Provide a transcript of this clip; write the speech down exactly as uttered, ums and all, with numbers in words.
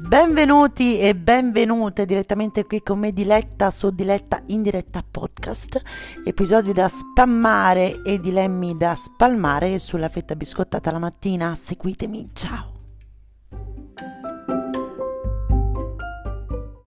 Benvenuti e benvenute direttamente qui con me Diletta su Diletta in diretta podcast, episodi da spammare e dilemmi da spalmare sulla fetta biscottata la mattina. Seguitemi, ciao!